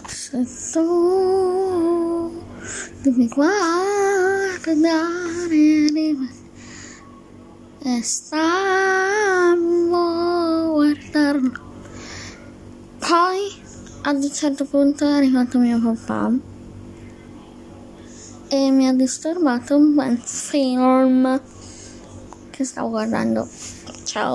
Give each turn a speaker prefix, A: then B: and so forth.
A: Se tu mi guardare e stavo guardando. Poi ad un certo punto è arrivato mio papà e mi ha disturbato un bel film che stavo guardando. Ciao.